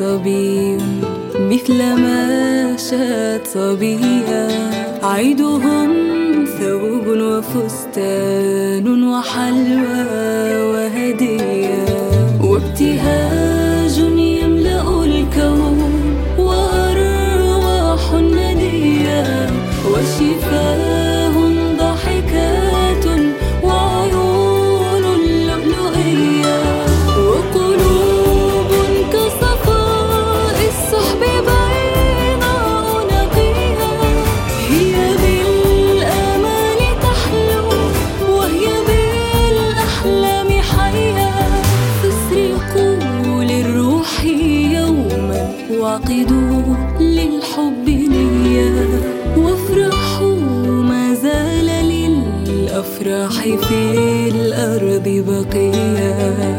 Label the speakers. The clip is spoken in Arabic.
Speaker 1: صبي مثل ما شاءت صبيا. عيدهم ثوب وفستان وحلوى وهدية، وابتهاج يملأ الكون وأرواح ندية، وشفاه ضحكات وعيون لؤلؤية، وقلوب كصفاء السحب بيضاء نقية. هي بالآمال تحلو وهي بالأحلام حية، فاسرقوا للروح يوما وعقدوا للحب نية، وافرحوا ما زال للأفراح في الأرض بقية.